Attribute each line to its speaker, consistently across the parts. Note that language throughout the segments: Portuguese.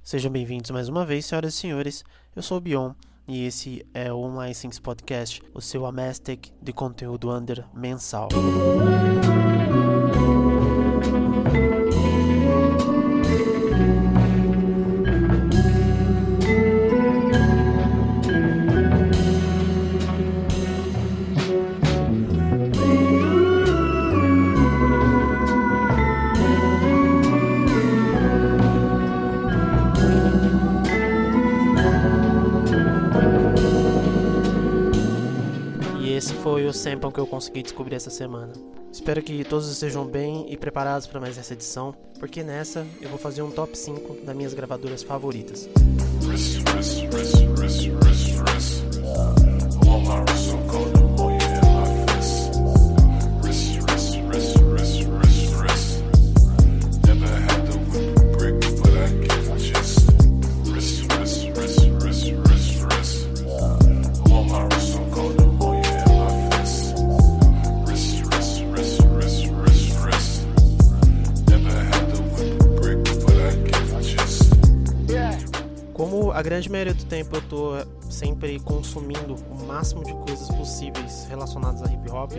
Speaker 1: Sejam bem-vindos mais uma vez, senhoras e senhores. Eu sou o Bion e esse é o Online Things Podcast, o seu Amastec de conteúdo under mensal. Esse foi o sample que eu consegui descobrir essa semana. Espero que todos estejam bem e preparados para mais essa edição, porque nessa eu vou fazer um top 5 das minhas gravadoras favoritas. Como a grande maioria do tempo eu tô sempre consumindo o máximo de coisas possíveis relacionadas a hip hop,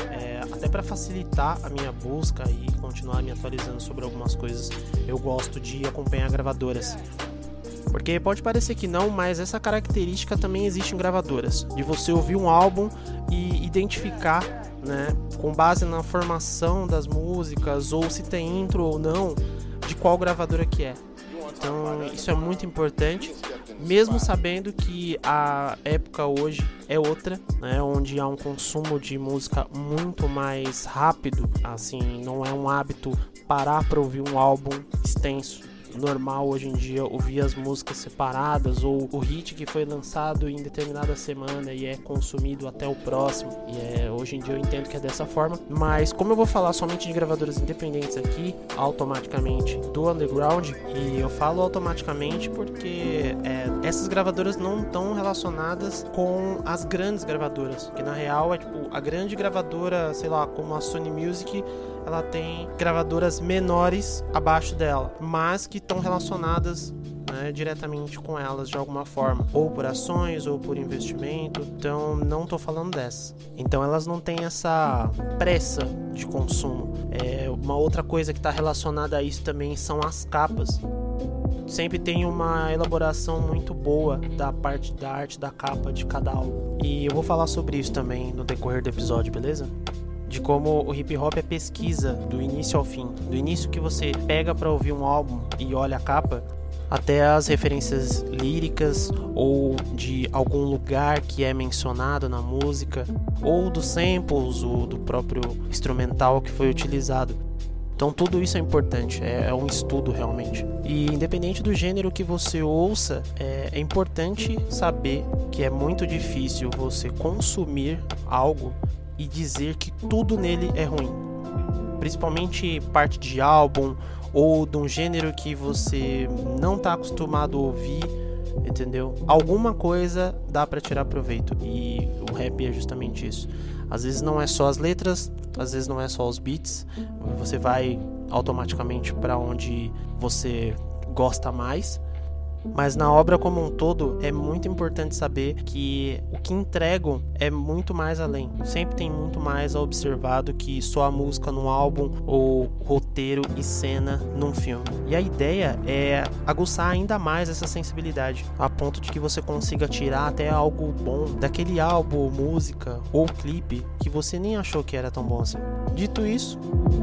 Speaker 1: até para facilitar a minha busca e continuar me atualizando sobre algumas coisas, eu gosto de acompanhar gravadoras. Porque pode parecer que não, mas essa característica também existe em gravadoras, de você ouvir um álbum e identificar, né, com base na formação das músicas, ou se tem intro ou não, de qual gravadora que é. Então isso é muito importante, mesmo sabendo que a época hoje é outra, né, onde há um consumo de música muito mais rápido, assim, não é um hábito parar para ouvir um álbum extenso. Normal hoje em dia ouvir as músicas separadas ou o hit que foi lançado em determinada semana e é consumido até o próximo, e hoje em dia eu entendo que é dessa forma, mas como eu vou falar somente de gravadoras independentes aqui, automaticamente do underground, e eu falo automaticamente porque essas gravadoras não estão relacionadas com as grandes gravadoras, que na real é tipo a grande gravadora, sei lá, como a Sony Music, ela tem gravadoras menores abaixo dela, mas que estão relacionadas, né, diretamente com elas de alguma forma, ou por ações ou por investimento. Então não estou falando dessas. Então elas não têm essa pressa de consumo. Uma outra coisa que está relacionada a isso também são as capas. Sempre tem uma elaboração muito boa da parte da arte da capa de cada álbum. E eu vou falar sobre isso também no decorrer do episódio, beleza? De como o hip hop é pesquisa do início ao fim, do início que você pega para ouvir um álbum e olha a capa, até as referências líricas ou de algum lugar que é mencionado na música, ou dos samples, ou do próprio instrumental que foi utilizado. Então tudo isso é importante, é um estudo realmente. E independente do gênero que você ouça, é importante saber que é muito difícil você consumir algo e dizer que tudo nele é ruim, principalmente parte de álbum ou de um gênero que você não está acostumado a ouvir, entendeu? Alguma coisa dá para tirar proveito, e o rap é justamente isso. Às vezes não é só as letras, às vezes não é só os beats, você vai automaticamente para onde você gosta mais. Mas na obra como um todo, é muito importante saber que o que entregam é muito mais além. Sempre tem muito mais a observar do que só a música num álbum ou roteiro e cena num filme. E a ideia é aguçar ainda mais essa sensibilidade, a ponto de que você consiga tirar até algo bom daquele álbum, música ou clipe que você nem achou que era tão bom assim. Dito isso,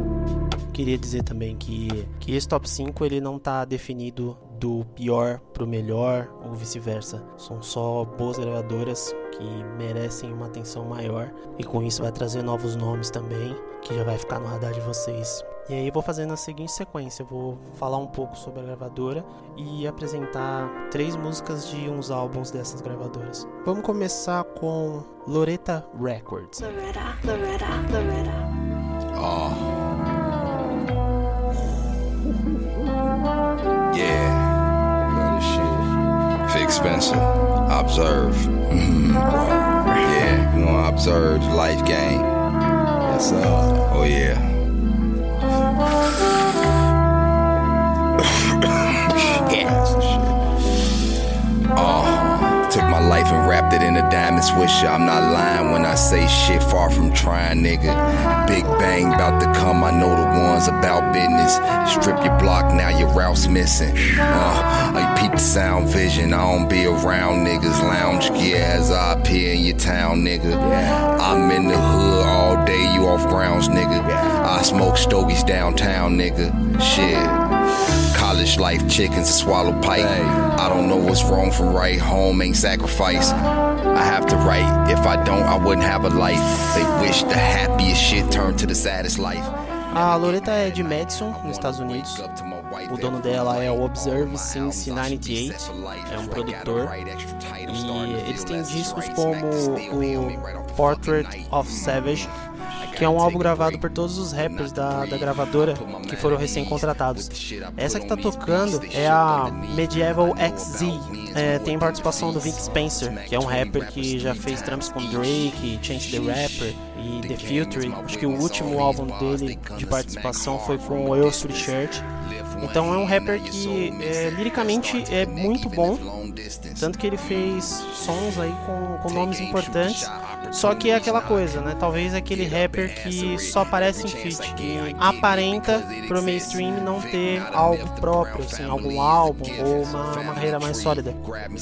Speaker 1: queria dizer também que esse top 5 ele não está definido do pior pro melhor ou vice-versa. São só boas gravadoras que merecem uma atenção maior, e com isso vai trazer novos nomes também, que já vai ficar no radar de vocês. E aí eu vou fazer na seguinte sequência: eu vou falar um pouco sobre a gravadora e apresentar 3 músicas de uns álbuns dessas gravadoras. Vamos começar com Loretta Records. Loretta.
Speaker 2: Yeah. Vic Spencer, Observe. Yeah, you wanna observe the life game. Yes, sir. Oh, yeah. Yeah. honest with you, I'm not lying when I say shit far from trying, nigga. Big bang about to come, I know the ones about business. Strip your block, now your route's missing. I peep the sound vision, I don't be around niggas. Lounge gear as I appear in your town, nigga. I'm in the hood all day, you off grounds, nigga. I smoke stogies downtown, nigga. Shit. College life, chickens to swallow pipe. I don't know what's wrong from right, home ain't sacrifice. I have to write, if I don't, I wouldn't have a life. They wish the happiest shit turned to the saddest life.
Speaker 1: A Loretta é de Madison, nos Estados Unidos. O dono dela é o Observe Since 98, é um produtor. E eles têm discos como o Portrait of Savage, que é um álbum gravado por todos os rappers da gravadora que foram recém-contratados. Essa que tá tocando é a Medieval XZ, tem participação do Vic Spencer, que é um rapper que já fez trampos com Drake, Chance the Rapper e The Future. Acho que o último álbum dele de participação foi com o Earl Sweatshirt. Então é um rapper que liricamente é muito bom, tanto que ele fez sons aí com nomes importantes. Só que é aquela coisa, né? Talvez aquele rapper que só aparece em feat e aparenta pro mainstream não ter algo próprio, assim, algum álbum ou uma carreira mais sólida.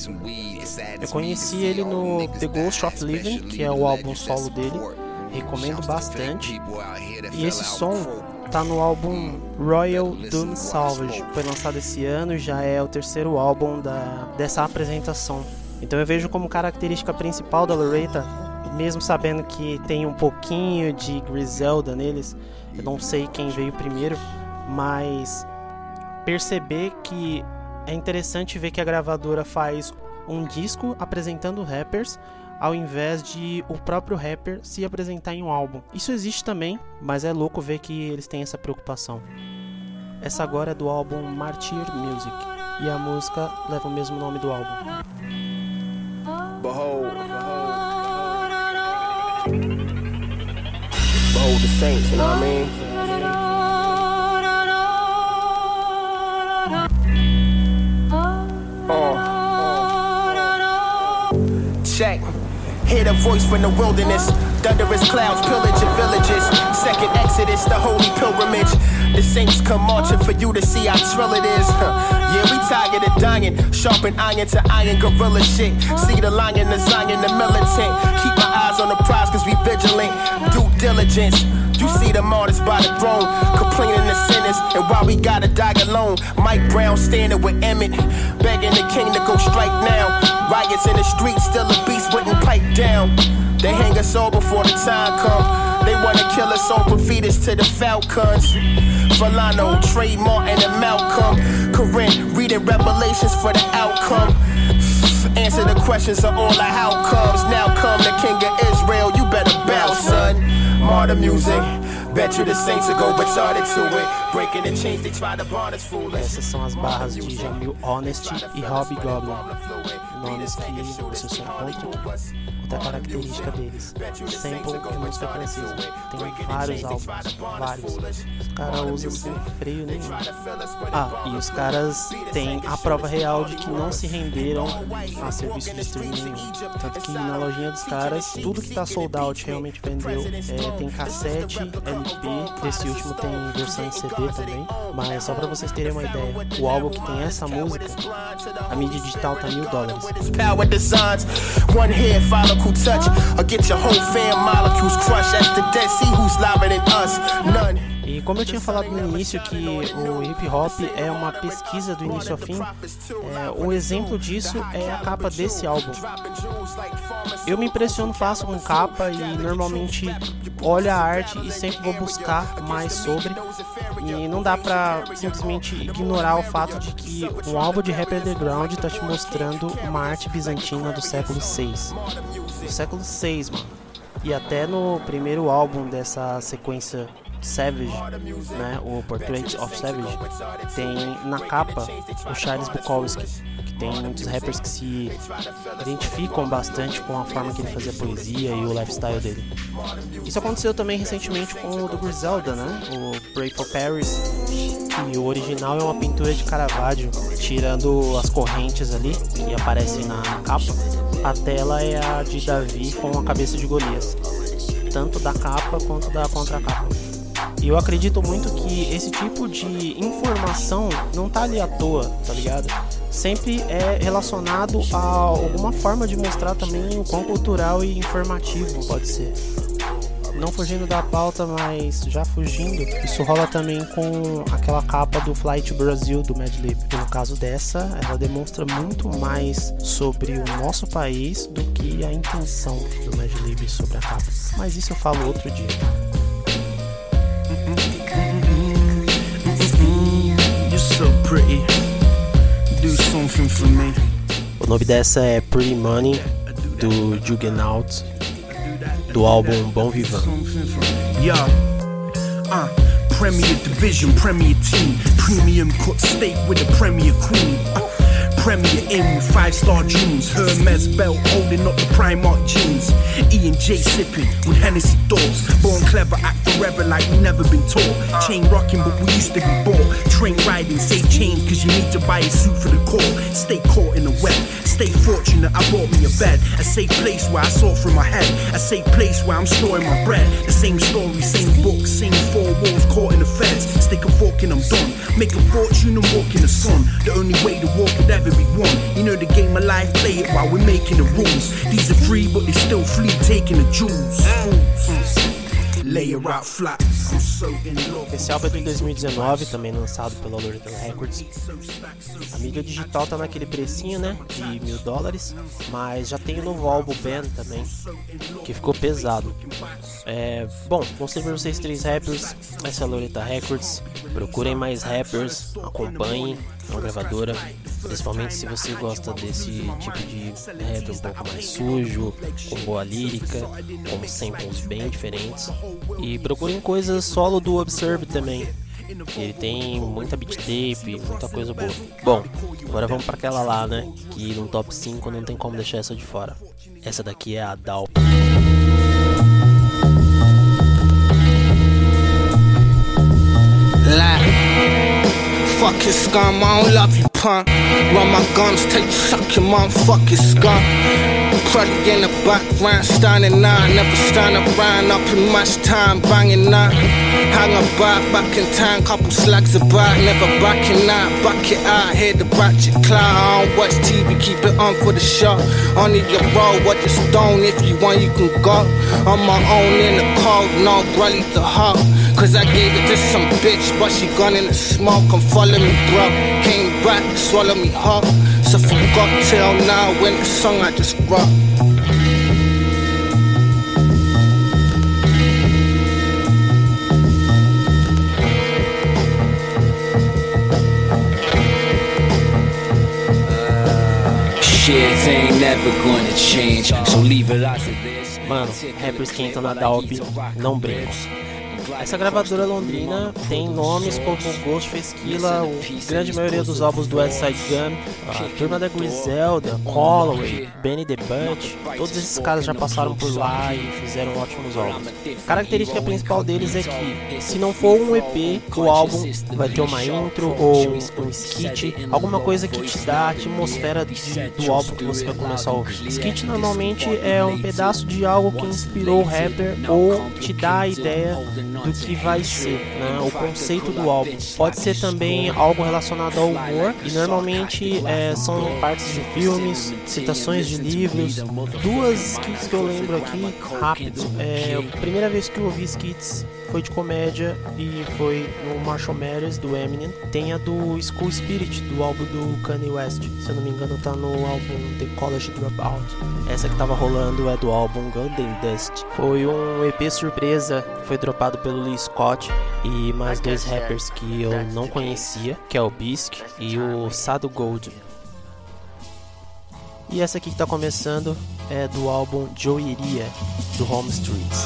Speaker 1: Eu conheci ele no The Ghost of Living, que é o álbum solo dele, recomendo bastante. E esse som tá no álbum Royal Doom Salvage, foi lançado esse ano, já é o terceiro álbum dessa apresentação. Então eu vejo como característica principal da Loretta, mesmo sabendo que tem um pouquinho de Griselda neles, eu não sei quem veio primeiro, mas perceber que é interessante ver que a gravadora faz um disco apresentando rappers, ao invés de o próprio rapper se apresentar em um álbum. Isso existe também, mas é louco ver que eles têm essa preocupação. Essa agora é do álbum Martyr Music, e a música leva o mesmo nome do álbum.
Speaker 3: Behold the saints, you know what I mean? Check. Hear the voice from the wilderness. Thunderous clouds pillage your villages. Second exodus, the holy pilgrimage. The saints come marching for you to see how trill it is. Yeah, we tired of dying. Sharpen iron to iron, gorilla shit. See the lion, the Zion, the militant. Keep my eyes on the prize cause we vigilant. Due diligence. You see the martyrs by the throne, complaining the sinners, and why we gotta die alone. Mike Brown standing with Emmett, begging the king to go strike now. Riots in the streets, still a beast wouldn't pipe down. They hang us all before the time come. They wanna kill us all, but feed us to the Falcons. Volano, Trey Martin, and Malcolm. Corinne, reading Revelations for the outcome. Answer the questions of all the how comes. Now come the king of Israel, you better bow, son. Martyr music, bet you the saints will go retarded to it. Breaking the chains, they try to bond us foolish.
Speaker 1: Essas são as barras de Jamil Honesty e Hobgoblin, nomes que você só encontra. Outra característica deles, sample de música francesa. Tem vários álbuns, vários. Os caras usam sem freio nenhum. E os caras têm a prova real de que não se renderam a serviço de streaming nenhum. Tanto que na lojinha dos caras, tudo que tá sold out realmente vendeu. Tem cassete, LP, desse último tem versão em CD também. Mas só pra vocês terem uma ideia, o álbum que tem essa música, a mídia digital tá $1,000.
Speaker 3: One here, follicle touch, or get your whole fam molecules crushed. As the dead see who's louder than us, none.
Speaker 1: E como eu tinha falado no início que o hip hop é uma pesquisa do início ao fim, um exemplo disso é a capa desse álbum. Eu me impressiono fácil com capa e normalmente olho a arte e sempre vou buscar mais sobre, e não dá pra simplesmente ignorar o fato de que um álbum de rap underground tá te mostrando uma arte bizantina do século VI. Do século VI, mano. E até no primeiro álbum dessa sequência Savage, né, o Portrait of Savage, tem na capa o Charles Bukowski, que tem muitos rappers que se identificam bastante com a forma que ele fazia poesia e o lifestyle dele. Isso aconteceu também recentemente com o do Griselda, né, o Pray for Paris, e o original é uma pintura de Caravaggio, tirando as correntes ali que aparecem na capa. a tela é a de Davi com a cabeça de Golias, tanto da capa quanto da contracapa. E eu acredito muito que esse tipo de informação não tá ali à toa, tá ligado? Sempre é relacionado a alguma forma de mostrar também o quão cultural e informativo pode ser. Não fugindo da pauta, mas já fugindo, isso rola também com aquela capa do Flight Brasil do Madlib. No caso dessa, ela demonstra muito mais sobre o nosso país do que a intenção do Madlib sobre a capa. Mas isso eu falo outro dia.
Speaker 4: You're so pretty. Do something for me.
Speaker 1: O nome dessa é Pretty Money, do Juggernaut, do álbum Bom Vivant.
Speaker 4: Premier Division, Premier Team, Premium cut steak with a Premier Queen. Premier in with 5-star dreams. Hermes belt holding up the Primark jeans. E&J sipping with Hennessy doors. Born clever, act forever like we never been taught. Chain rocking but we used to be bought. Train riding, save change cause you need to buy a suit for the call. Stay caught in the web, stay fortunate, I bought me a bed. A safe place where I saw through my head. A safe place where I'm storing my bread. The same story, same book, same 4 walls caught in the feds. Stick a fork and I'm done. Make a fortune and walk in the sun. The only way the war could ever be won. You know the game of life, play it while we're making the rules. These are free but they still flee, taking the jewels. Lay her out flat. I'm so in love.
Speaker 1: Esse álbum é de 2019, também lançado pela Loretta Records. A mídia digital tá naquele precinho, né, de $1.000, mas já tem o novo álbum Ben também, que ficou pesado. Bom, mostrei pra vocês 3 rappers, essa é a Loretta Records. Procurem mais rappers, acompanhem uma gravadora, principalmente se você gosta desse tipo de rap um pouco mais sujo, com boa lírica, com samples bem diferentes. E procurem coisas solo do Observe também, ele tem muita beat tape, muita coisa boa. Bom, agora vamos pra aquela lá, né, que no top 5 não tem como deixar essa de fora. Essa daqui é a Dalp.
Speaker 5: Fucking scum, I don't love you, punk. Run my guns, take you, suck your mom, fucking scum. Cruddy in the background, standing nine. Never stand around, not in much time, banging nine. Hang about, back in time, couple slags about. Never backing out, back it out, hear the ratchet cloud. I don't watch TV, keep it on for the show. On your road, what just don't, if you want you can go. On my own in the cold, no brolly to hoe. Cause I gave it to some bitch, but she gone in the smoke. Come follow me, bro. Came back, swallow me hard. So from cocktail now, when the song I just wrote.
Speaker 6: Shit ain't never gonna change, so leave it as it is.
Speaker 1: Mano, rappers que entram na Dalp não brincam. Essa gravadora londrina tem nomes como Ghostface Killah, a grande maioria dos álbuns do Westside Gun, a Turma da Griselda, Holloway, Benny the Butch, todos esses caras já passaram por lá e fizeram ótimos álbuns. A característica principal deles é que, se não for um EP, o álbum vai ter uma intro ou um skit, alguma coisa que te dá a atmosfera do álbum que você vai começar a ouvir. Skit normalmente é um pedaço de algo que inspirou o rapper ou te dá a ideia do que vai ser, né? O conceito do álbum. Pode ser também algo relacionado ao humor e normalmente são partes de filmes, citações de livros. 2 skits que eu lembro aqui, rápido. A primeira vez que eu ouvi skits foi de comédia e foi no Marshall Mathers do Eminem. Tem a do School Spirit do álbum do Kanye West, se eu não me engano tá no álbum The College Dropout. Essa que tava rolando é do álbum Golden Dust. Foi um EP surpresa, foi dropado pelo Lee Scott e mais 2 rappers que eu não conhecia, que é o Bisk e o Sado Gold. E essa aqui que tá começando é do álbum Joeria do Home Streets.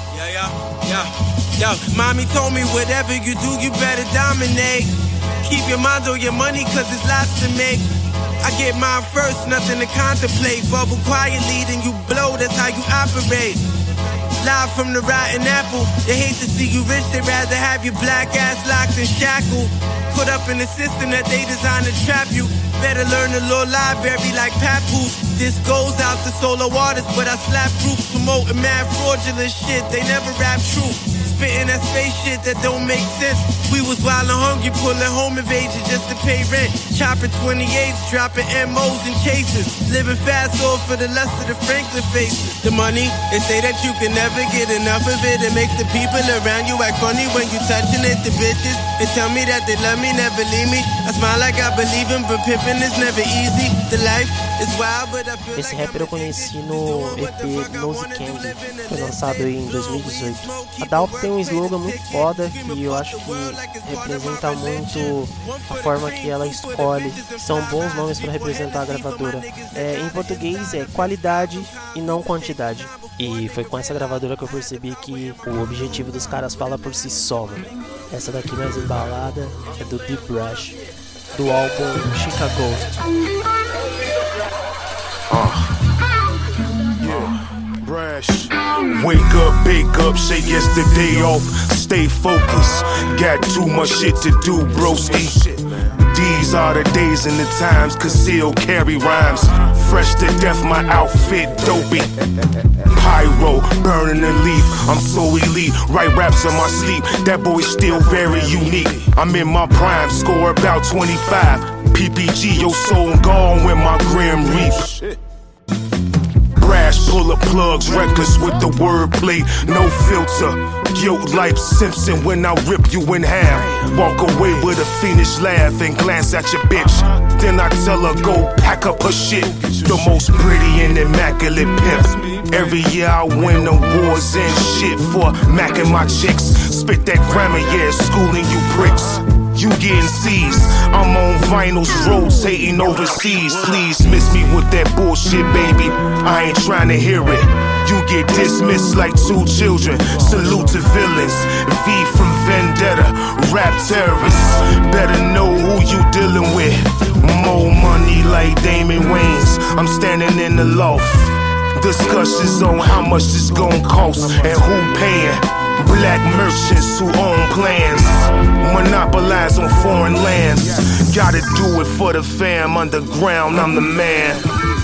Speaker 7: Yo, mommy told me whatever you do, you better dominate. Keep your mind on your money, cause it's lots to make. I get mine first, nothing to contemplate. Bubble quietly, then you blow, that's how you operate. Live from the rotten apple. They hate to see you rich, they rather have your black ass locked and shackled. Put up in the system that they designed to trap you. Better learn the law library like Papoose. This goes out to solo artists, but I slap proof, promoting mad fraudulent shit. They never rap truth. Spitting that space shit that don't make sense. We was wild and hungry, pulling home invasions just to pay rent. Chopping 28s, dropping MOs in cases. Living fast off for the lust of the Franklin faces. The money, they say that you can never get enough of it. It makes the people around you act funny when you touching it. The bitches, they tell me that they love me, never leave me. I smile like I believe them, but pimping is never easy. The life is wild, but I feel
Speaker 1: Esse
Speaker 7: like
Speaker 1: rapper eu conheci no EP Nose Candy, foi lançado em 2018. A Dalp tem um slogan muito foda que eu acho que representa muito a forma que ela escolhe. São bons nomes para representar a gravadora. Em português é qualidade e não quantidade. E foi com essa gravadora que eu percebi que o objetivo dos caras fala por si só, mano. Essa daqui mais embalada é do Deep Rush, do álbum Chica Ghost.
Speaker 4: Brash. Wake up, bake up, shake yesterday off. Stay focused, got too much shit to do, broski. These are the days and the times, conceal, carry rhymes. Fresh to death, my outfit dopey. Pyro, burning the leaf, I'm so elite. Write raps in my sleep, that boy's still very unique. I'm in my prime, score about 25. PPG, your soul gone when my grim reap. Brash, pull up plugs, reckless with the wordplay, no filter. Guilt like Simpson when I rip you in half. Walk away with a fiendish laugh and glance at your bitch. Then I tell her go pack up her shit. The most pretty and immaculate pimp. Every year I win awards and shit for macking my chicks. Spit that grammar, yeah, schooling you pricks. You getting seized, I'm on vinyls, rotating overseas. Please miss me with that bullshit, baby, I ain't trying to hear it. You get dismissed like two children. Salute to villains, V from Vendetta, rap terrorists. Better know who you dealing with. More money like Damon Wayans, I'm standing in the loft. Discussions on how much this gon' cost and who paying. Black merchants who own plans, monopolize on foreign lands. Gotta do it for the fam, underground, I'm the man.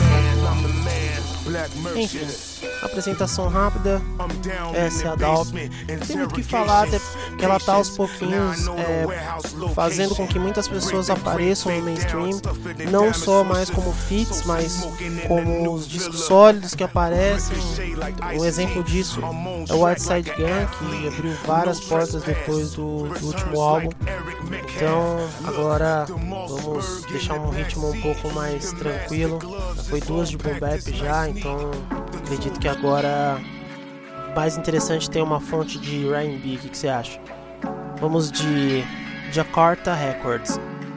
Speaker 1: Enfim, apresentação rápida, essa é a Dalp. Não tem muito o que falar, até porque ela tá aos pouquinhos fazendo com que muitas pessoas apareçam no mainstream, não só mais como feats, mas como os discos sólidos que aparecem. Um exemplo disso é o Whiteside Gun, que abriu várias portas depois do último álbum. Então agora vamos deixar um ritmo um pouco mais tranquilo. Foi 2 de boom bap já, então acredito que agora mais interessante ter uma fonte de R&B. O que você acha? Vamos de Jakarta Records.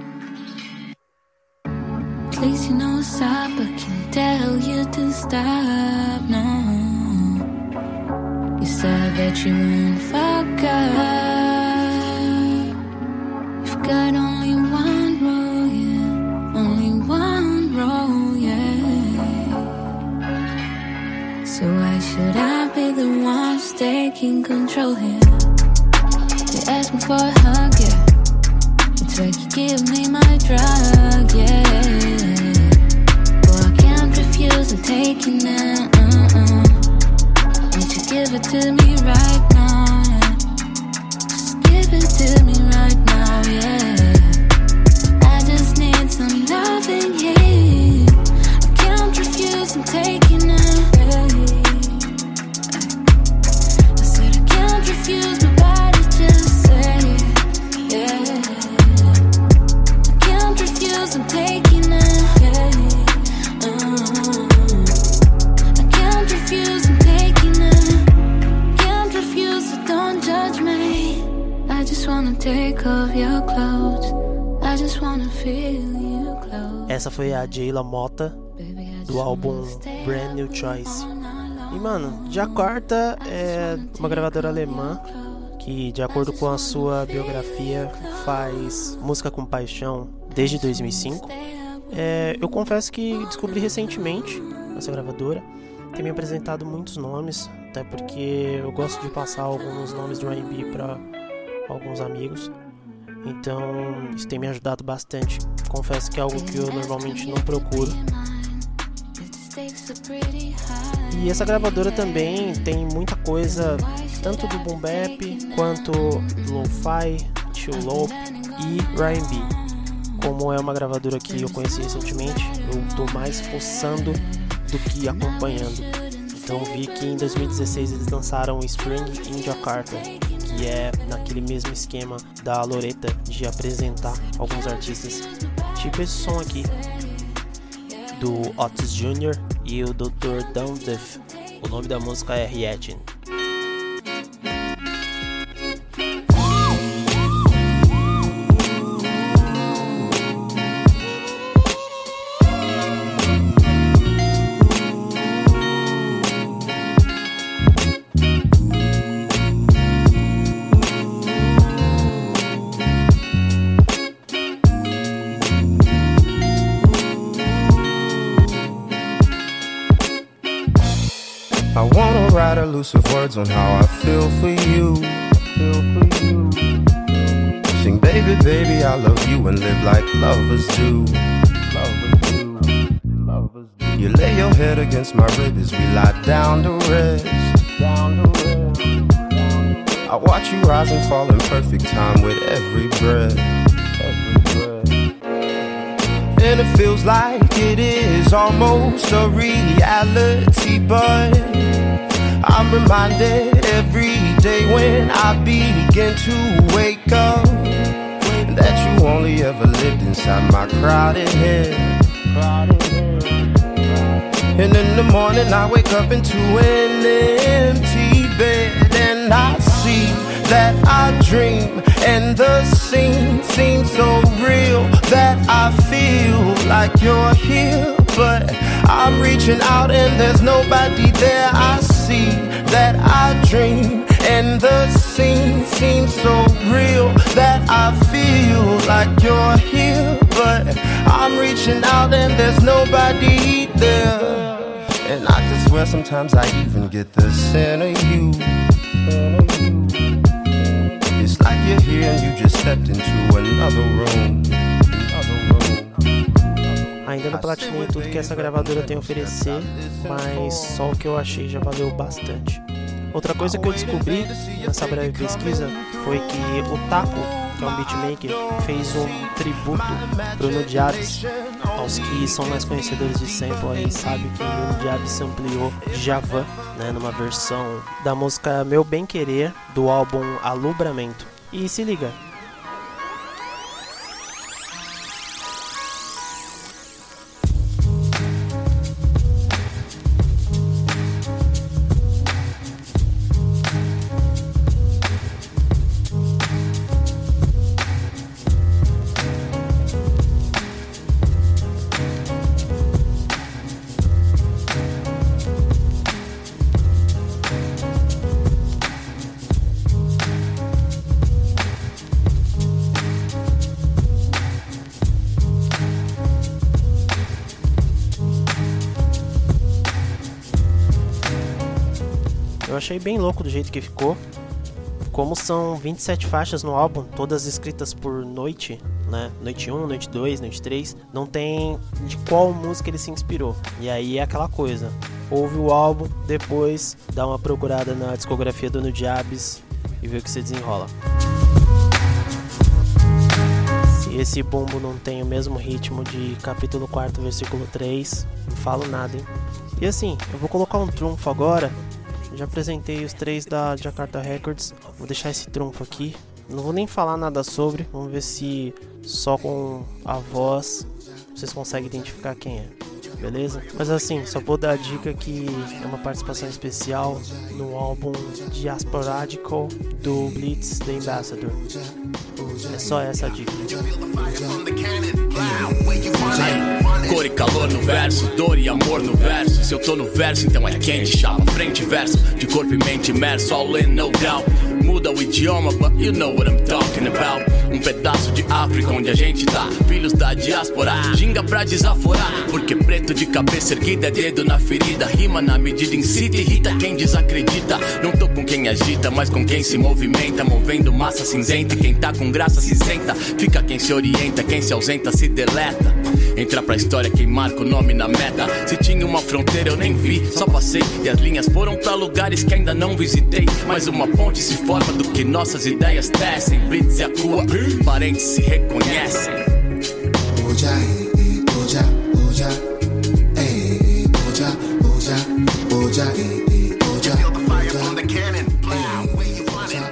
Speaker 8: Please, you know what's up, I can tell you to stop, no. You said that you won't fuck up. You've got only one rule, yeah. Only one rule, yeah. So why should I be the one who's taking control here? You ask me for a hug, yeah. It's like you give me my drug, yeah. But I can't refuse, I'm taking it, Won't you give it to me right now, yeah. Just give it to me right now, yeah. I just need some loving, yeah. I can't refuse, I'm taking it, yeah. I said I can't refuse, my body just say, yeah. I'm taking it, yeah. I can't refuse, I'm taking it. Can't refuse, so don't judge me. I just wanna take off your clothes. I just wanna feel you close.
Speaker 1: Essa foi a Jayla Motta do álbum Brand New Choice. E mano, Jakarta é uma gravadora alemã que, de acordo com a sua biografia, faz música com paixão desde 2005. Eu confesso que descobri recentemente essa gravadora. Tem me apresentado muitos nomes, até porque eu gosto de passar alguns nomes de R&B para alguns amigos. Então isso tem me ajudado bastante. Confesso que é algo que eu normalmente não procuro. E essa gravadora também tem muita coisa, tanto do boom bap quanto lo-fi, chill low e R&B. Como é uma gravadora que eu conheci recentemente, eu tô mais forçando do que acompanhando. Então vi que em 2016 eles lançaram Spring in Jakarta, que é naquele mesmo esquema da Loretta de apresentar alguns artistas, tipo esse som aqui do Otis Jr. e o Dr. Dumdef. O nome da música é Reaction.
Speaker 9: I wanna write elusive words on how I feel for you. Sing baby, baby, I love you and live like lovers do. You lay your head against my rib as we lie down to rest. I watch you rise and fall in perfect time with every breath. And it feels like it is almost a reality, but I'm reminded every day when I begin to wake up that you only ever lived inside my crowded head. And in the morning I wake up into an empty bed, and I see that I dream, and the scene seems so real that I feel like you're here, but I'm reaching out and there's nobody there. I see that I dream, and the scene seems so real that I feel like you're here, but I'm reaching out and there's nobody there. And I can swear sometimes I even get the scent of you. It's like you're here and you just stepped into another room.
Speaker 1: Ainda não platinei tudo que essa gravadora tem a oferecer, mas só o que eu achei já valeu bastante. Outra coisa que eu descobri nessa breve pesquisa foi que o Taco, que é um beatmaker, fez um tributo pro Nudiabs. Aos que são mais conhecedores de sample aí sabem que o Nudiabs ampliou Djavan, né, numa versão da música Meu Bem Querer do álbum Alubramento. E se liga. Eu achei bem louco do jeito que ficou. Como são 27 faixas no álbum, todas escritas por Noite, né? Noite 1, Noite 2, Noite 3, não tem de qual música ele se inspirou. E aí é aquela coisa, ouve o álbum, depois dá uma procurada na discografia do Nudiabs e vê o que se desenrola. Se esse bumbo não tem o mesmo ritmo de capítulo 4, versículo 3, não falo nada, hein? E assim, eu vou colocar um trunfo agora. Já apresentei os 3 da Jakarta Records, vou deixar esse trunfo aqui. Não vou nem falar nada sobre, vamos ver se só com a voz vocês conseguem identificar quem é, beleza? Mas assim, só vou dar a dica que é uma participação especial no álbum Diasporadical do Blitz The Ambassador. É só essa a dica.
Speaker 10: Cor e calor no verso, dor e amor no verso. Se eu tô no verso, então é quente, chama, frente e verso. De corpo e mente imerso, all in, no doubt. Muda o idioma, but you know what I'm talking about. Um pedaço de África onde a gente tá, filhos da diáspora, ginga pra desaforar. Porque preto de cabeça erguida é dedo na ferida. Rima na medida, incita e irrita quem desacredita. Não tô com quem agita, mas com quem se movimenta. Movendo massa cinzenta e quem tá com graça se senta. Fica quem se orienta, quem se ausenta se deleta. Entrar pra história quem marca o nome na meta. Se tinha uma fronteira eu nem vi, só passei. E as linhas foram pra lugares que ainda não visitei. Mas uma ponte se forma do que nossas ideias tecem. Blitz e a cua, parentes se reconhecem.
Speaker 11: Oja, oja, oja, oja, oja, oja, oja. Feel the fire from the cannon. Where you want it?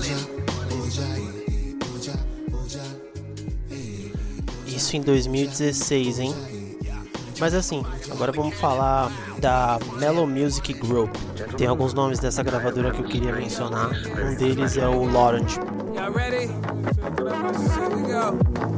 Speaker 1: Isso em 2016, hein? Mas assim, agora vamos falar da Mellow Music Group. Tem alguns nomes dessa gravadora que eu queria mencionar. Um deles é o Laurent.
Speaker 12: Y'all ready? Here we go.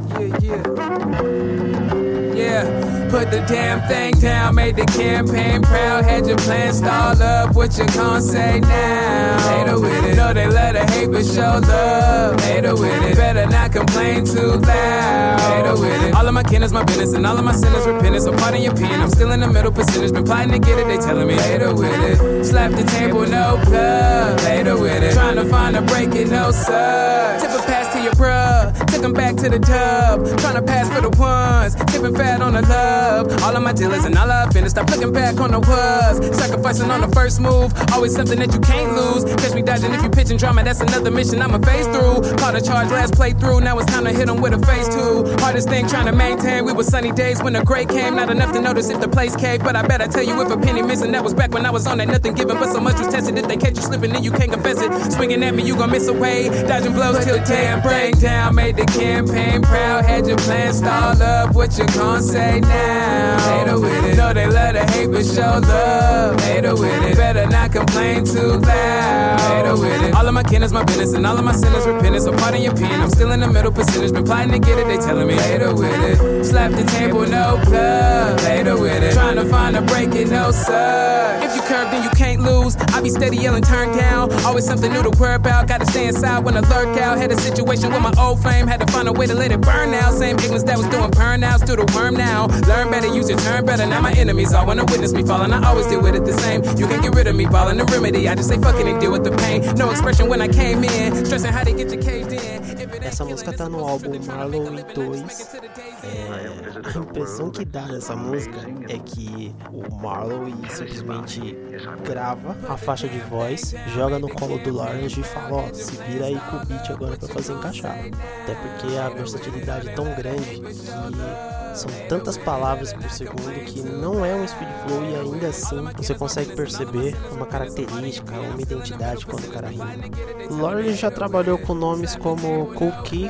Speaker 12: Yeah, put the damn thing down, made the campaign proud, had your plan stalled up, what you gon' say now? Hater with it, know they love to hate but show love. Hater with it, better not complain too loud. Hater with it, all of my kin is my business and all of my sinners repentance, so pardon your pen, I'm still in the middle percentage, been plotting to get it, they telling me hater with it. Slap the table, no plug, hater with it, trying to find a break it, no sir. Tip a pass to your bruh, took him back to the tub, trying to pass for the ones, tipping fat on the love. All of my dealers and all I've been, stop looking back on the was. Sacrificing on the first move, always something that you can't lose. Catch me dodging if you pitching drama, that's another mission I'ma face through. Caught a charge last playthrough, now it's time to hit them with a phase 2. Hardest thing trying to maintain, we were sunny days when the gray came. Not enough to notice if the place caved, but I bet I tell you if a penny missing, that was back when I was on that nothing given, but so much was tested. If they catch you slipping, then you can't confess it. Swinging at me, you gon' miss away. Dodging blows till damn break down, made the campaign proud, had your plan stalled up, what you gon' say now? Hater with it, know they love to hate but show love. Hater with it, better not complain too loud. Hater with it, all of my kin is my business and all of my sinners repentance, so pardon your pen, I'm still in the middle percentage, been plotting to get it, they telling me hater with it. Slap the table, no plug. Hater with it, trying to find a break it, no sir. If you curve then you can't lose, I be steady yelling turn down, always something new to worry about, gotta stay inside when I lurk out. Had a situation with my old flame, had to find a way to let it burn out. Same ignorance that was doing burnouts, do the worm now. Learn better, use your turn better, now my enemies all wanna witness me falling, I always deal with it the same. You can get rid of me, ballin' the remedy, I just say fuck it and deal with the pain. No expression when I came in, stressing how they get you caved in.
Speaker 1: Essa música tá no álbum Marlowe 2. A impressão que dá nessa música é que o Marlowe simplesmente grava a faixa de voz, joga no colo do Laurent e fala, ó, se vira aí com o beat agora pra fazer encaixar. Até porque a versatilidade é tão grande que são tantas palavras por segundo que não é um speed flow e ainda assim você consegue perceber uma característica, uma identidade quando o cara rima. O Laurent já trabalhou com nomes como Kool Keith,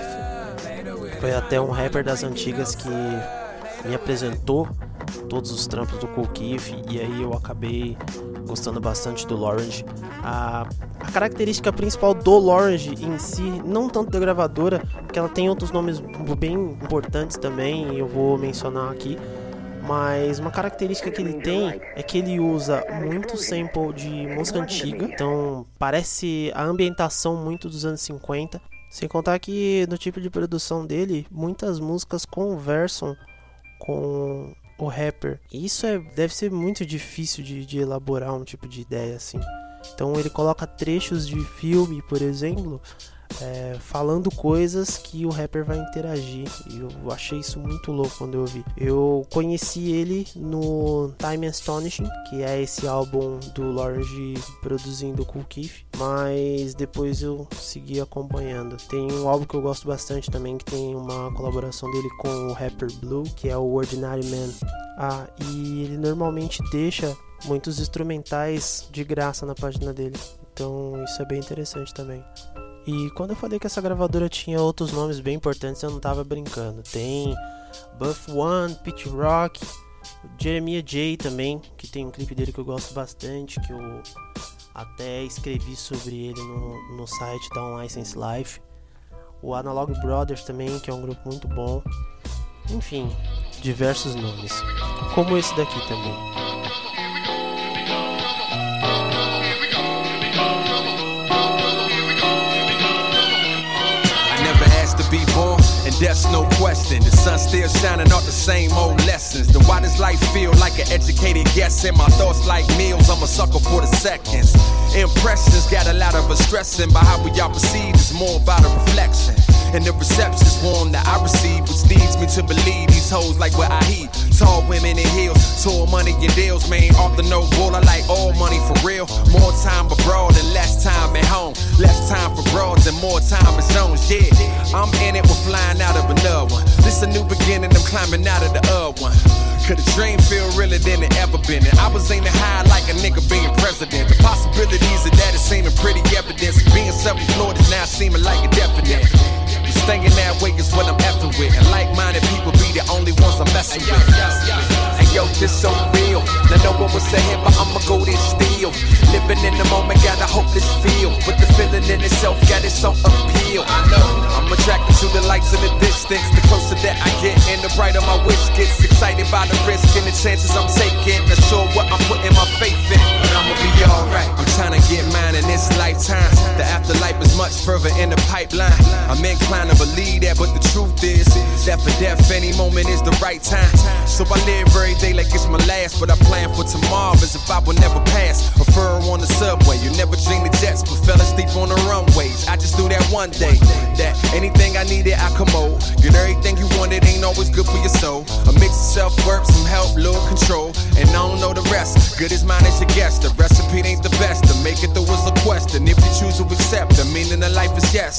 Speaker 1: foi até um rapper das antigas que me apresentou todos os trampos do Kool Keith e aí eu acabei gostando bastante do Laurent. A característica principal do Laurent em si, não tanto da gravadora, porque ela tem outros nomes bem importantes também, e eu vou mencionar aqui, mas uma característica que ele tem é que ele usa muito sample de música antiga, então parece a ambientação muito dos anos 50, sem contar que no tipo de produção dele, muitas músicas conversam com o rapper. E isso deve ser muito difícil de elaborar um tipo de ideia assim. Então ele coloca trechos de filme, por exemplo, falando coisas que o rapper vai interagir. E eu achei isso muito louco quando eu ouvi. Eu conheci ele no Time Astonishing, que é esse álbum do Laurent produzindo o Kool Keith, mas depois eu segui acompanhando. Tem um álbum que eu gosto bastante também, que tem uma colaboração dele com o rapper Blue, que é o Ordinary Man. E ele normalmente deixa muitos instrumentais de graça na página dele, então isso é bem interessante também. E quando eu falei que essa gravadora tinha outros nomes bem importantes, eu não tava brincando. Tem Buff One, Pete Rock, Jeremiah J também, que tem um clipe dele que eu gosto bastante, que eu até escrevi sobre ele no site da Unlicensed Life. O Analog Brothers também, que é um grupo muito bom. Enfim, diversos nomes, como esse daqui também.
Speaker 13: Be born, and that's no question. The sun still shining out the same old lessons. Then why does life feel like an an educated guess. And my thoughts like meals, I'm a sucker for the seconds. Impressions got a lot of us stressing, but how we all perceive is more about a reflection. And the reception's warm that I receive, which leads me to believe these hoes like what I heat. Tall women in heels, tall money in deals, man. Off the no bull, I like all money for real. More time abroad and less time at home. Less time for broads and more time at zones, yeah. I'm in it, we're flying out of another one. This a new beginning, I'm climbing out of the other one. Could a dream feel realer than it ever been? And I was aiming high like a nigga being president. The possibilities of that is seeming pretty evident. Being self-employed is now seeming like a definite. Staying that way is what I'm effing with. And like-minded people be the only ones I'm messing with. And yo, this so real. Now no one was saying, but I'ma go this still. Living in the moment, got a hopeless feel. But the feeling in itself got its own appeal. I know I'm attracted to the lights in the distance. The closer that I get and the brighter my wish gets. Excited by the risk and the chances I'm taking. Not sure what I'm putting my faith in, but I'ma be alright. I'm trying to get mine in this lifetime. The afterlife is much further in the pipeline. I'm inclined to believe that, but the truth is that for death any moment is the right time. So I live every day like it's my last, but I plan for tomorrow as if I would never pass. A fur on the subway, you never dream the jets, but fell asleep on the runways. I just knew that one day that anything I needed I commode. Get everything you wanted ain't always good for your soul. A mix of self-worth, some help, little control, and I don't know the rest. Good as mine as your guess. The recipe ain't the best. To make it through is a quest, and if you choose to accept, the meaning of life is yes.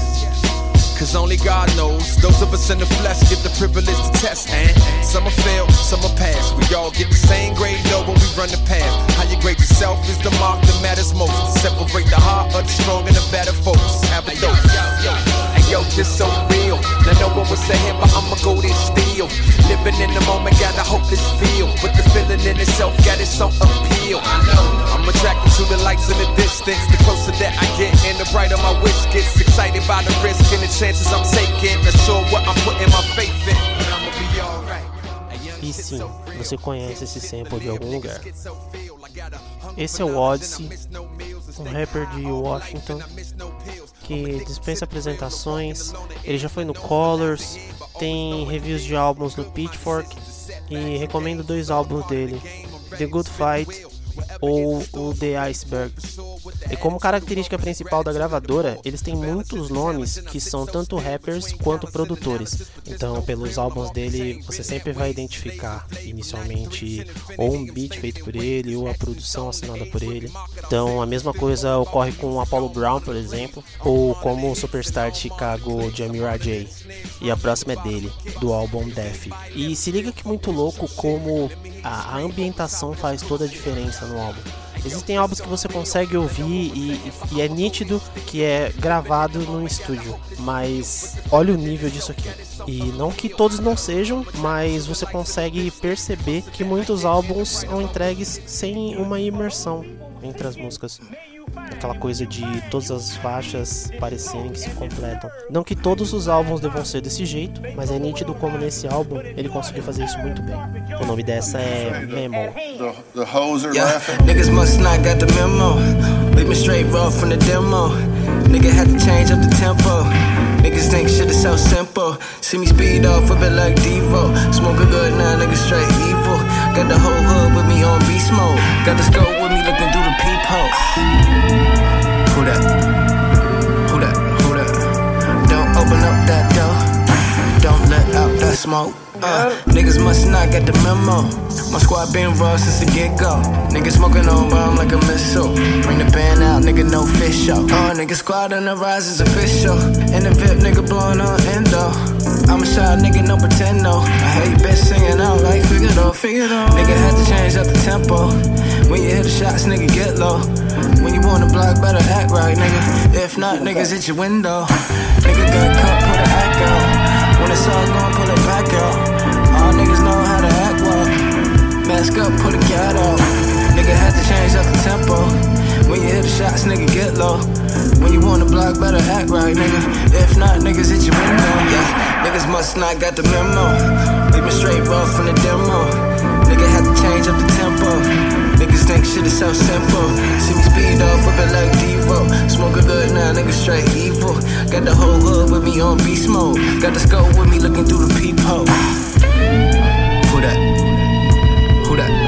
Speaker 13: Cause only God knows. Those of us in the flesh get the privilege to test, and some are fail, some are pass. We all get the same grade though when we run the path. How you grade yourself is the mark that matters most. To separate the heart of the strong and the better folks. Have a dose. And yo, this so real. Now no one was saying, but I'ma go this still. Living in the moment, got a hopeless feel. But the feeling in itself got its own appeal. I know I'm attracted to the lights in the distance. The closer that I get and the brighter my wish gets. Excited by the risk and the chances I'm taking. Not sure what I'm putting my faith in, but I'ma be alright.
Speaker 1: E sim, você conhece esse sample de algum lugar. Esse é o Odyssey, um rapper de Washington que dispensa apresentações. Ele já foi no Colors, tem reviews de álbuns no Pitchfork e recomendo 2 álbuns dele, The Good Fight ou o The Iceberg. E como característica principal da gravadora, eles têm muitos nomes que são tanto rappers quanto produtores. Então, pelos álbuns dele, você sempre vai identificar inicialmente ou um beat feito por ele ou a produção assinada por ele. Então, a mesma coisa ocorre com o Apollo Brown, por exemplo, ou como o superstar de Chicago, Jamira J. E a próxima é dele, do álbum Death. E se liga que muito louco como a ambientação faz toda a diferença no álbum. Existem álbuns que você consegue ouvir e é nítido que é gravado no estúdio, mas olha o nível disso aqui. E não que todos não sejam, mas você consegue perceber que muitos álbuns são entregues sem uma imersão entre as músicas. Aquela coisa de todas as faixas parecerem que se completam. Não que todos os álbuns devam ser desse jeito, mas é nítido como nesse álbum ele conseguiu fazer isso muito bem. O nome dessa é Memo.
Speaker 14: The hoes are
Speaker 15: laughing. Niggas must not got the memo. Leave me straight raw from the demo. Nigga had to change up the tempo. Niggas think shit is so simple. See me speed off a bit like Devo. Smoke a good now, niggas straight evil. Got the whole hood with me on beast mode. Got the scope with me looking through the peephole. Who that? Who that? Who that? Don't open up that door. Don't let out that smoke. Niggas must not get the memo. My squad been raw since the get-go. Niggas smoking on bomb like a missile. Bring the band out, nigga, no fish show. Nigga squad on the rise is official. And the VIP nigga blowing on endo. I'm a shy nigga, no pretend no. I hate bitch singing out like Figaro. Nigga had to change up the tempo. When you hit the shots, nigga, get low. When you on the block, better act right, nigga. If not, niggas hit your window. Nigga got cut, put an act out. When it's all gone, pull it back out. All niggas know how to act well. Mask up, pull the cat out. Nigga had to change up the tempo. When you hit the shots, nigga, get low. When you on the block, better act right, nigga. If not, niggas hit your window. Yeah, niggas must not got the memo. Leave me straight raw from the demo. Nigga had to change up the tempo. Niggas think shit is so simple. See me speed off a bit like Devo. Smoke a good now, nigga straight evil. Got the whole hood with me on beast mode. Got the scope with me looking through the peephole. Who that? Who that?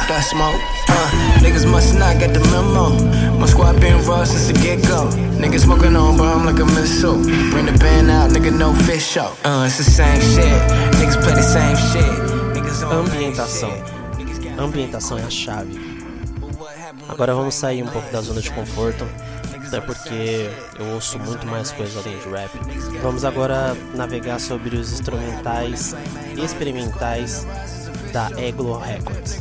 Speaker 15: that smoke. Niggas must not get the memo. My squad been raw since the get-go. Niggas smoking on bomb like a missile. Bring the band out, nigga, no fish show. It's the same shit. Niggas play the same shit.
Speaker 1: Ambientação. Ambientação é a chave. Agora vamos sair um pouco da zona de conforto, até porque eu ouço muito mais coisas além de rap. Vamos agora navegar sobre os instrumentais experimentais da Eglo Records.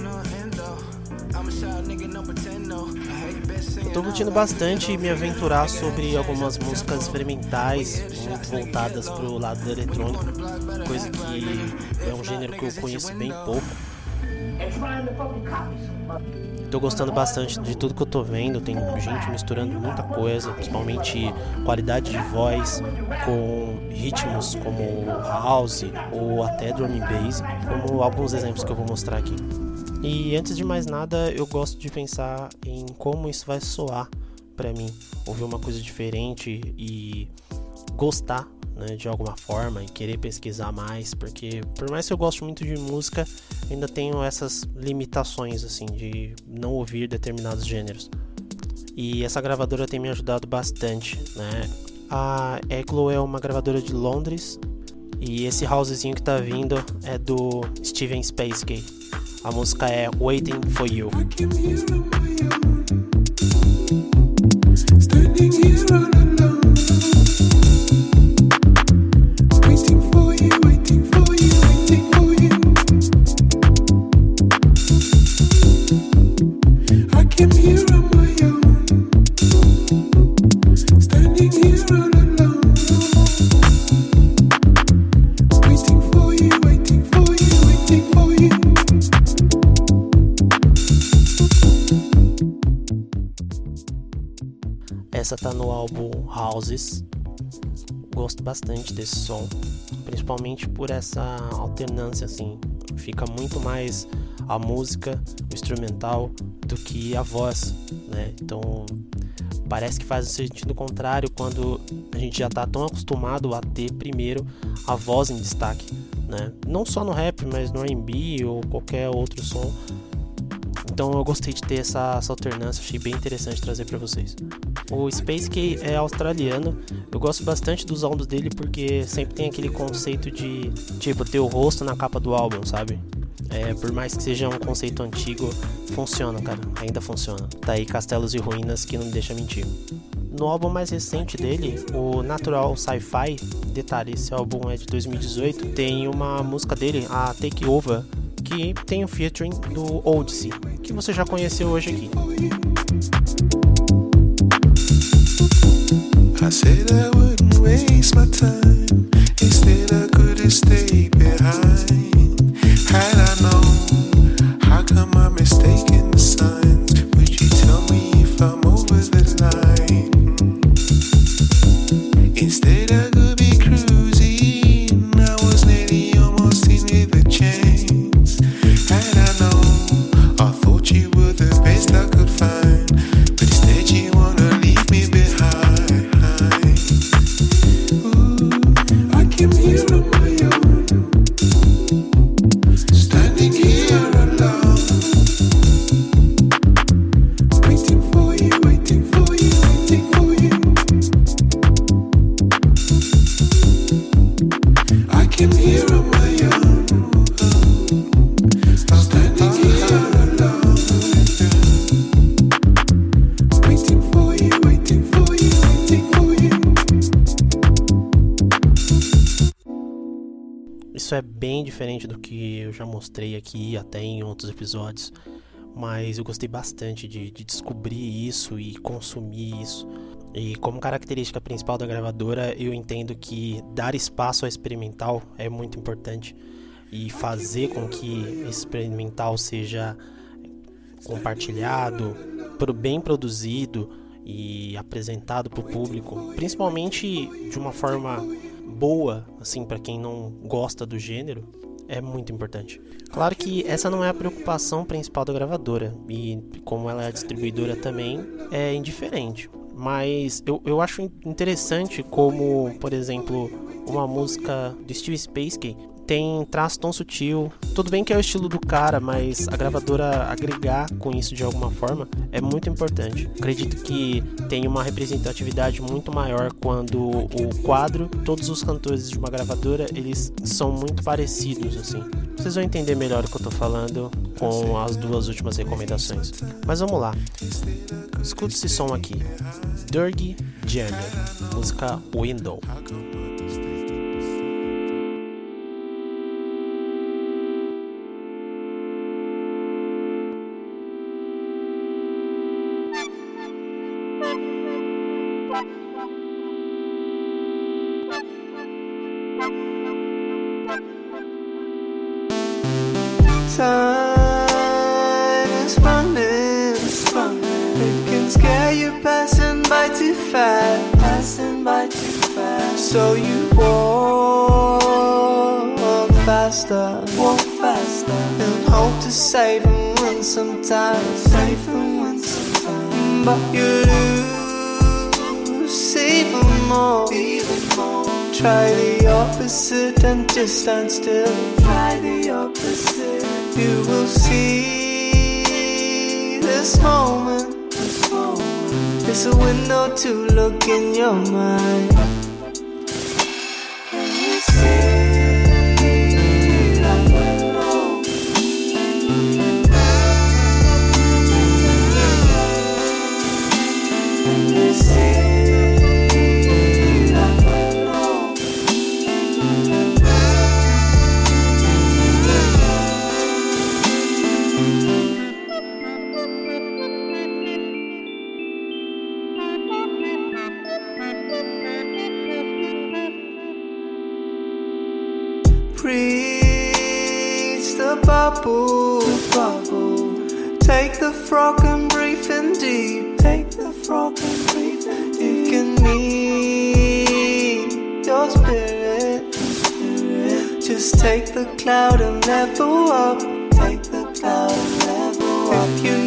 Speaker 1: Eu tô curtindo bastante me aventurar sobre algumas músicas experimentais, muito voltadas pro lado do eletrônico, coisa que é um gênero que eu conheço bem pouco. Tô gostando bastante de tudo que eu tô vendo. Tem gente misturando muita coisa, principalmente qualidade de voz com ritmos como house ou até drum and bass, como alguns exemplos que eu vou mostrar aqui. E antes de mais nada, eu gosto de pensar em como isso vai soar pra mim, ouvir uma coisa diferente e gostar, né, de alguma forma, e querer pesquisar mais, porque por mais que eu goste muito de música, ainda tenho essas limitações assim de não ouvir determinados gêneros. E essa gravadora tem me ajudado bastante, né? A Eglo é uma gravadora de Londres e esse housezinho que tá vindo é do Steven Spacey. A música é Waiting for You. Essa tá no álbum Houses. Gosto bastante desse som, principalmente por essa alternância, assim. Fica muito mais a música, o instrumental, do que a voz, né? Então parece que faz um sentido contrário quando a gente já tá tão acostumado a ter primeiro a voz em destaque, né? Não só no rap, mas no R&B ou qualquer outro som. Então eu gostei de ter essa alternância, achei bem interessante trazer pra vocês. O Spacey é australiano, eu gosto bastante dos álbuns dele porque sempre tem aquele conceito de, tipo, ter o rosto na capa do álbum, sabe? Por mais que seja um conceito antigo, funciona, cara, ainda funciona. Tá aí Castelos e Ruínas que não deixa mentir. No álbum mais recente dele, o Natural Sci-Fi, detalhe, esse álbum é de 2018, tem uma música dele, a Take Over, que tem o featuring do Odyssey, que você já conheceu hoje aqui.
Speaker 11: I said I wouldn't waste my time. Instead I could have stayed behind. Had I known, how come I'm mistaking the signs? Would you tell me if I'm over the line? Instead I could be cruising. I was nearly almost in with a chance. Had I known, I thought you were the best I could find. But instead you wanna leave me behind.
Speaker 1: Isso é bem diferente do que eu já mostrei aqui até em outros episódios, mas eu gostei bastante de descobrir isso e consumir isso. E como característica principal da gravadora, eu entendo que dar espaço ao experimental é muito importante e fazer com que esse experimental seja compartilhado, bem produzido e apresentado para o público, principalmente de uma forma boa, assim, para quem não gosta do gênero, é muito importante. Claro que essa não é a preocupação principal da gravadora, e como ela é a distribuidora também, é indiferente. Mas eu acho interessante como, por exemplo, uma música do Steve Spassky, tem traço tão sutil. Tudo bem que é o estilo do cara, mas a gravadora agregar com isso de alguma forma é muito importante. Acredito que tem uma representatividade muito maior quando o quadro, todos os cantores de uma gravadora, eles são muito parecidos, assim. Vocês vão entender melhor o que eu tô falando com as duas últimas recomendações. Mas vamos lá. Escuta esse som aqui. Dirty Jenner, música Window.
Speaker 16: Time is running, it can scare you passing by too fast, so you walk faster, and hope to save and win sometimes, but you lose even more. Try the opposite and just stand still. Try the opposite. You will see this moment. It's a window to look in your mind. Can you see that window? Can you see? Breathe the bubble. Take the frog and breathe in deep. You can meet your spirit. Just take the cloud and level up. If you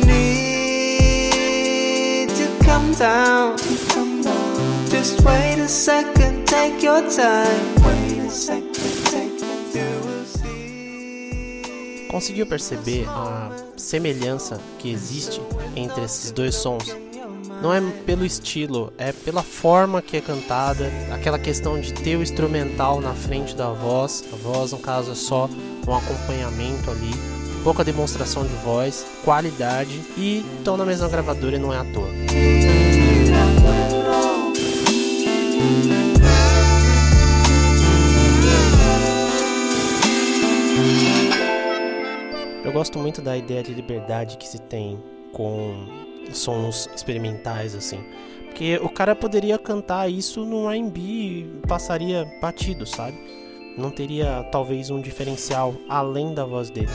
Speaker 16: need to come down, just wait a second, take your time.
Speaker 1: Conseguiu perceber a semelhança que existe entre esses dois sons? Não é pelo estilo, é pela forma que é cantada, aquela questão de ter o instrumental na frente da voz. A voz, no caso, é só um acompanhamento ali, pouca demonstração de voz, qualidade, e estão na mesma gravadora e não é à toa. Eu gosto muito da ideia de liberdade que se tem com sons experimentais, assim. Porque o cara poderia cantar isso no R&B e passaria batido, sabe? Não teria, talvez, um diferencial além da voz dele.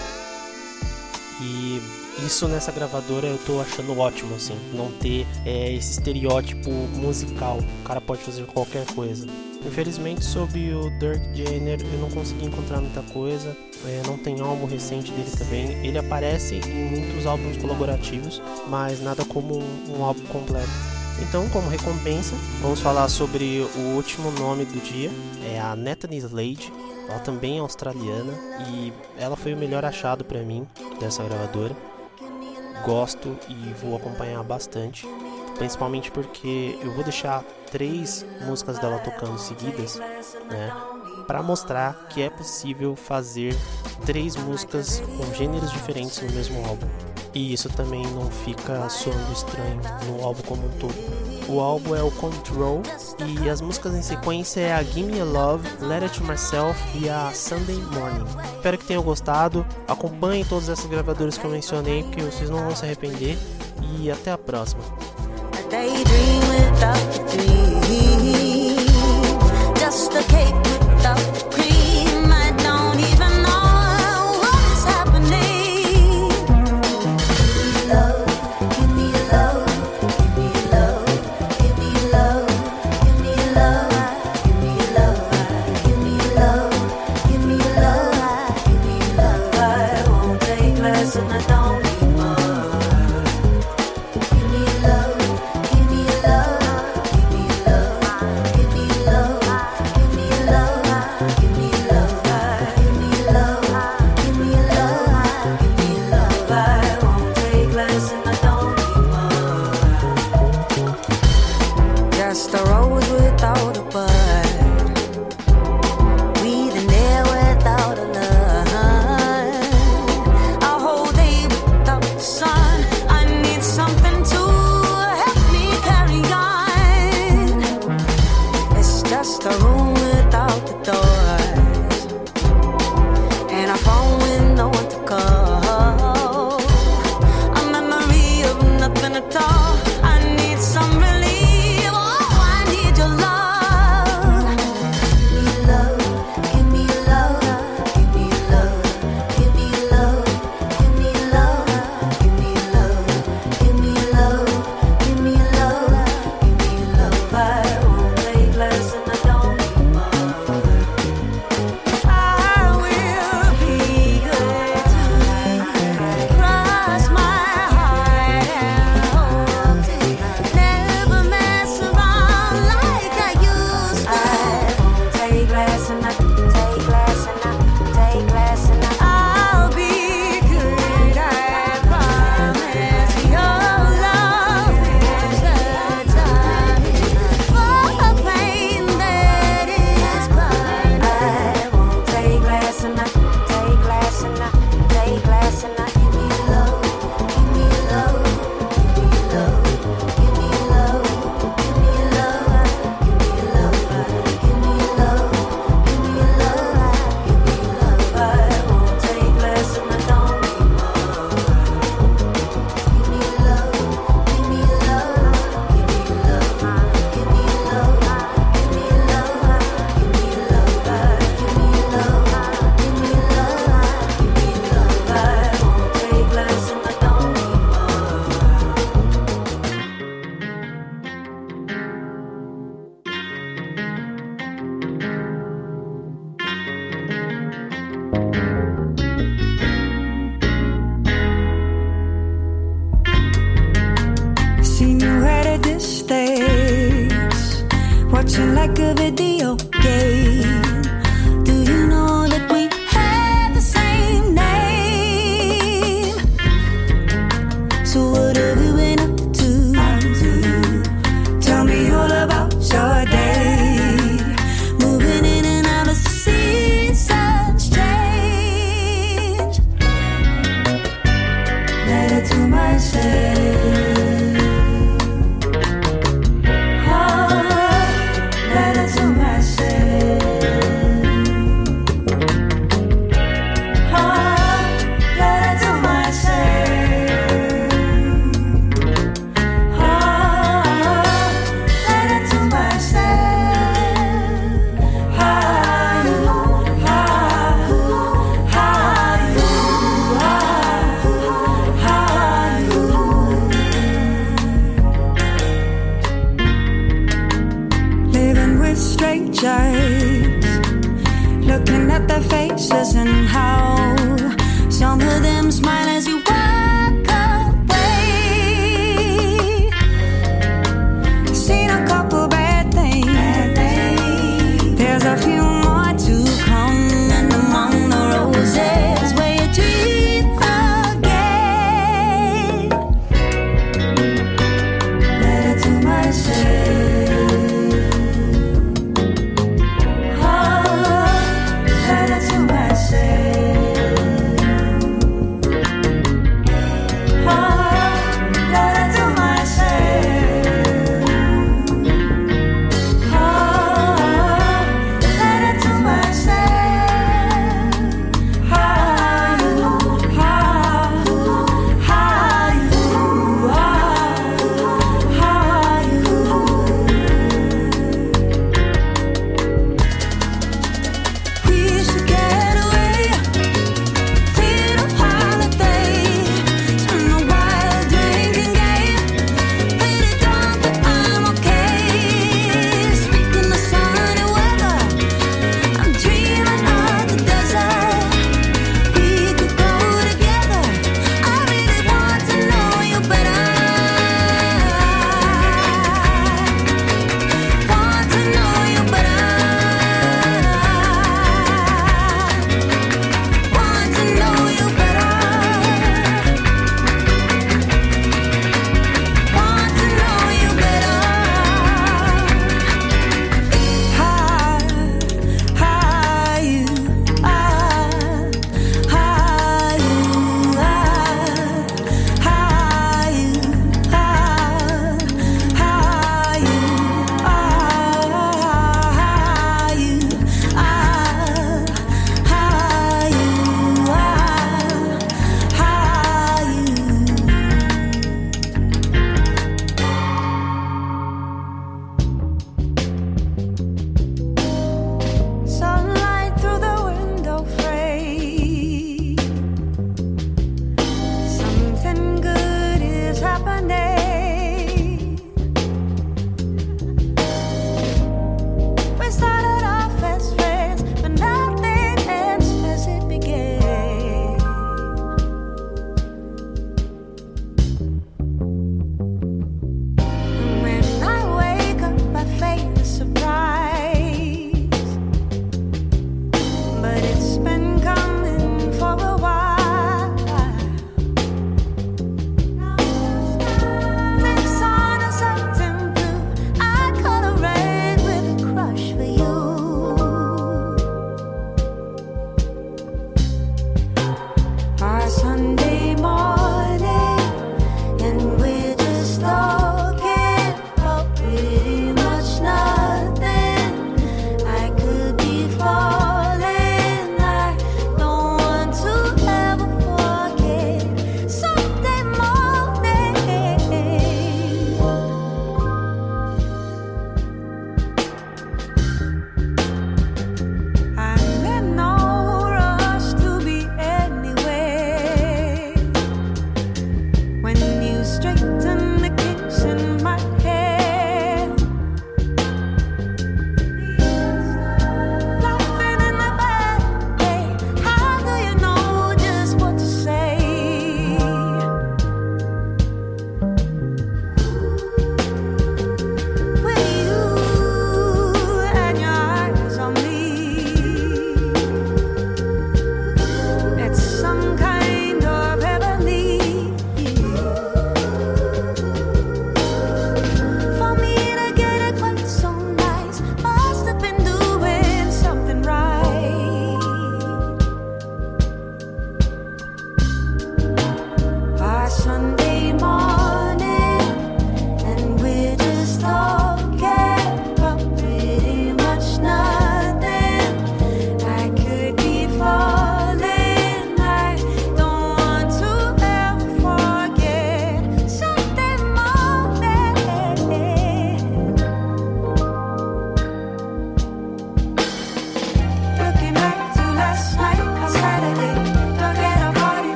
Speaker 1: E isso nessa gravadora eu tô achando ótimo, assim. Não ter esse estereótipo musical. O cara pode fazer qualquer coisa. Infelizmente, sobre o Dirty Jenner, eu não consegui encontrar muita coisa. Não tem álbum recente dele também. Ele aparece em muitos álbuns colaborativos, mas nada como um álbum completo. Então, como recompensa, vamos falar sobre o último nome do dia. É a Natalie Slade. Ela também é australiana e ela foi o melhor achado pra mim dessa gravadora. Gosto e vou acompanhar bastante, principalmente porque eu vou deixar 3 músicas dela tocando seguidas, né, para mostrar que é possível fazer 3 músicas com gêneros diferentes no mesmo álbum. E isso também não fica soando estranho no álbum como um todo. O álbum é o Control e as músicas em sequência é a Gimme a Love, Letter to Myself e a Sunday Morning. Espero que tenham gostado. Acompanhem todas essas gravadoras que eu mencionei, porque vocês não vão se arrepender. E até a próxima.
Speaker 16: Give me love,
Speaker 8: watching like a video game. Do you know that we have the same name? So what have you been up to? Tell me all about your day. Moving in and out of seasons change. Letter to myself. Looking at their faces and how some of them smile as you